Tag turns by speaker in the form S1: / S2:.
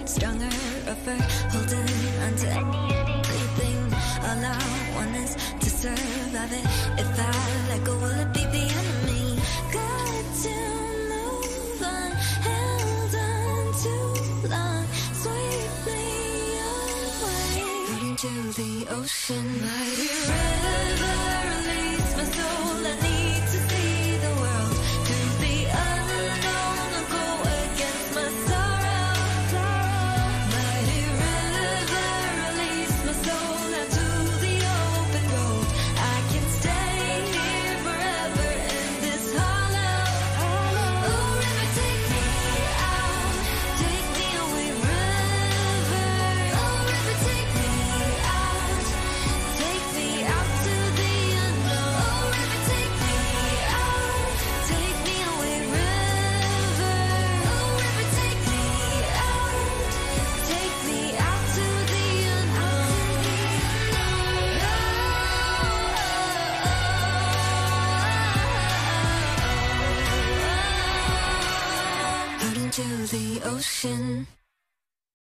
S1: stronger, rougher, holding onto anything. All I want is to survive it. If I let go, will it be the enemy? Got to move on, held on too long. Sweep me away, out into the ocean. Mighty river, release my soul.